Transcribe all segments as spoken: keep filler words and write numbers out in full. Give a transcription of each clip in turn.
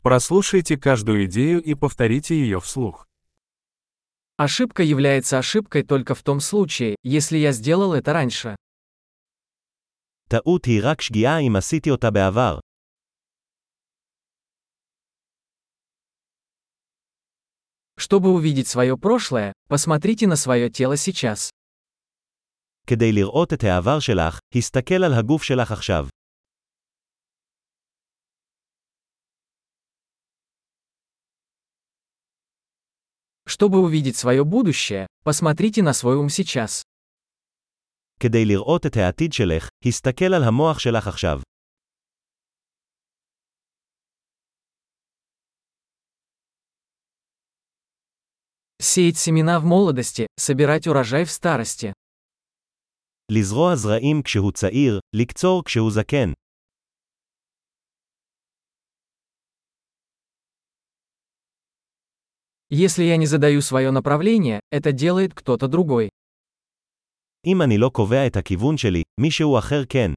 Прослушайте каждую идею и повторите ее вслух. Ошибка является ошибкой только в том случае, если я сделал это раньше. טעות היא רק שגיאה אם עשיתי אותה בעבר. Чтобы увидеть свое прошлое, посмотрите на свое тело сейчас. כדי לראות את העבר שלך, הסתכל על הגוף שלך עכשיו. Чтобы увидеть свое будущее, посмотрите на свой ум сейчас. כדי לראות את העתיד שלך, הסתכל על המוח שלך עכשיו. Сеять семена в молодости, собирать урожай в старости. לזרוע זרעים כשהוא צעיר, לקצור כשהוא זקן. Если я не задаю свое направление, это делает кто-то другой. אם אני לא קובע את הכיוון שלי, מישהו אחר כן.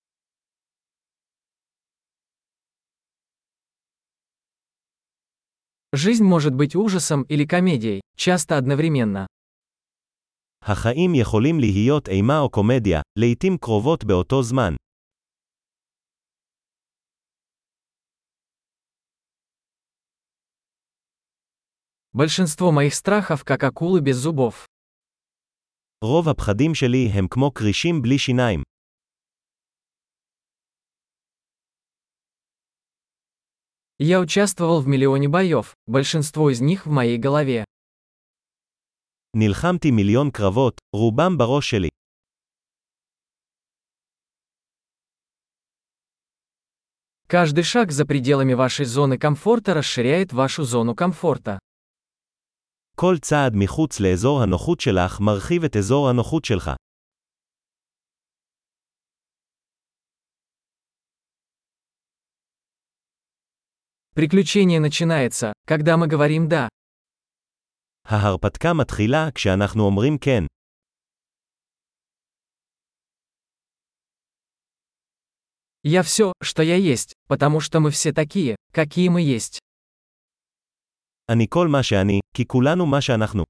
Жизнь может быть ужасом или комедией, часто одновременно. החיים יכולים להיות אימה או קומדיה, לעתים קרובות באותו זמן. Большинство моих страхов как акулы без зубов. רוב הפחדים שלי הם כמו קרישים בלי שיניים. Я участвовал в миллионе боев, большинство из них в моей голове. נלחמתי מיליון קרבות, רובם בראש שלי. Каждый шаг за пределами вашей зоны комфорта расширяет вашу зону комфорта. כל צעד מחוץ לאזור הנוחות שלך מרחיב את אזור הנוחות שלך. Приключение начинается, когда мы говорим «да». ההרפתקה מתחילה כשאנחנו אומרים כן. Я все, что я есть, потому что мы все такие, какие мы есть. אני כל מה שאני, כי כולנו מה שאנחנו.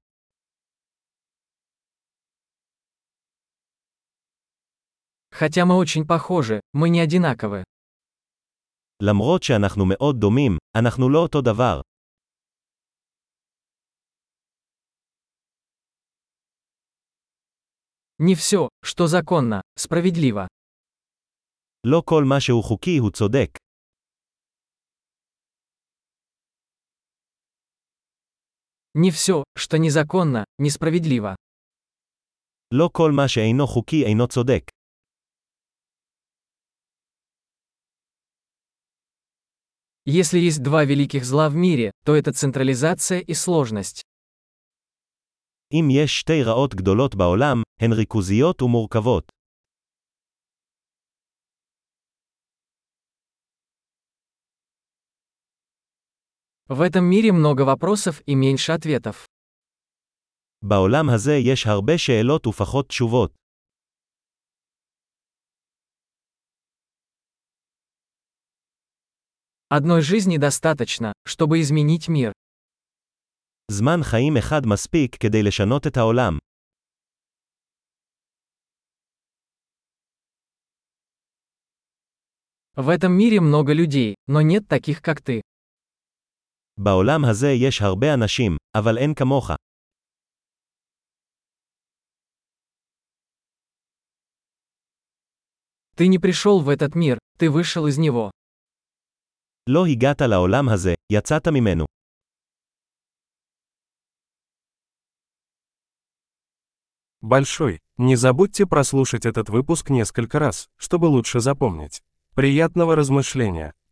Хотя мы очень похожи, мы не одинаковы. למרות שאנחנו מאוד דומים, אנחנו לא אותו דבר. Не все, что законно, справедливо. לא כל מה שהוא חוקי הוא צודק. Не все, что незаконно, несправедливо. לא כל מה שאינו חוקי אינו צודק. Если есть два великих зла в мире, то это централизация и сложность. אם יש שתי רעות גדולות בעולם, הן ריכוזיות ומורכבות. В этом мире много вопросов и меньше ответов. בעולם הזה יש הרבה שאלות ופחות תשובות. Одной жизни достаточно, чтобы изменить мир. זמן חיים אחד מספיק כדי לשנות את העולם. В этом мире много людей, но нет таких, как ты. בעולם הזה יש הרבה אנשים, אבל אין כמוך. Ты не пришел в этот мир, ты вышел из него. לא הגעת לעולם הזה, יצאת ממנו. Большой. Не забудьте прослушать этот выпуск несколько раз, чтобы лучше запомнить. Приятного размышления!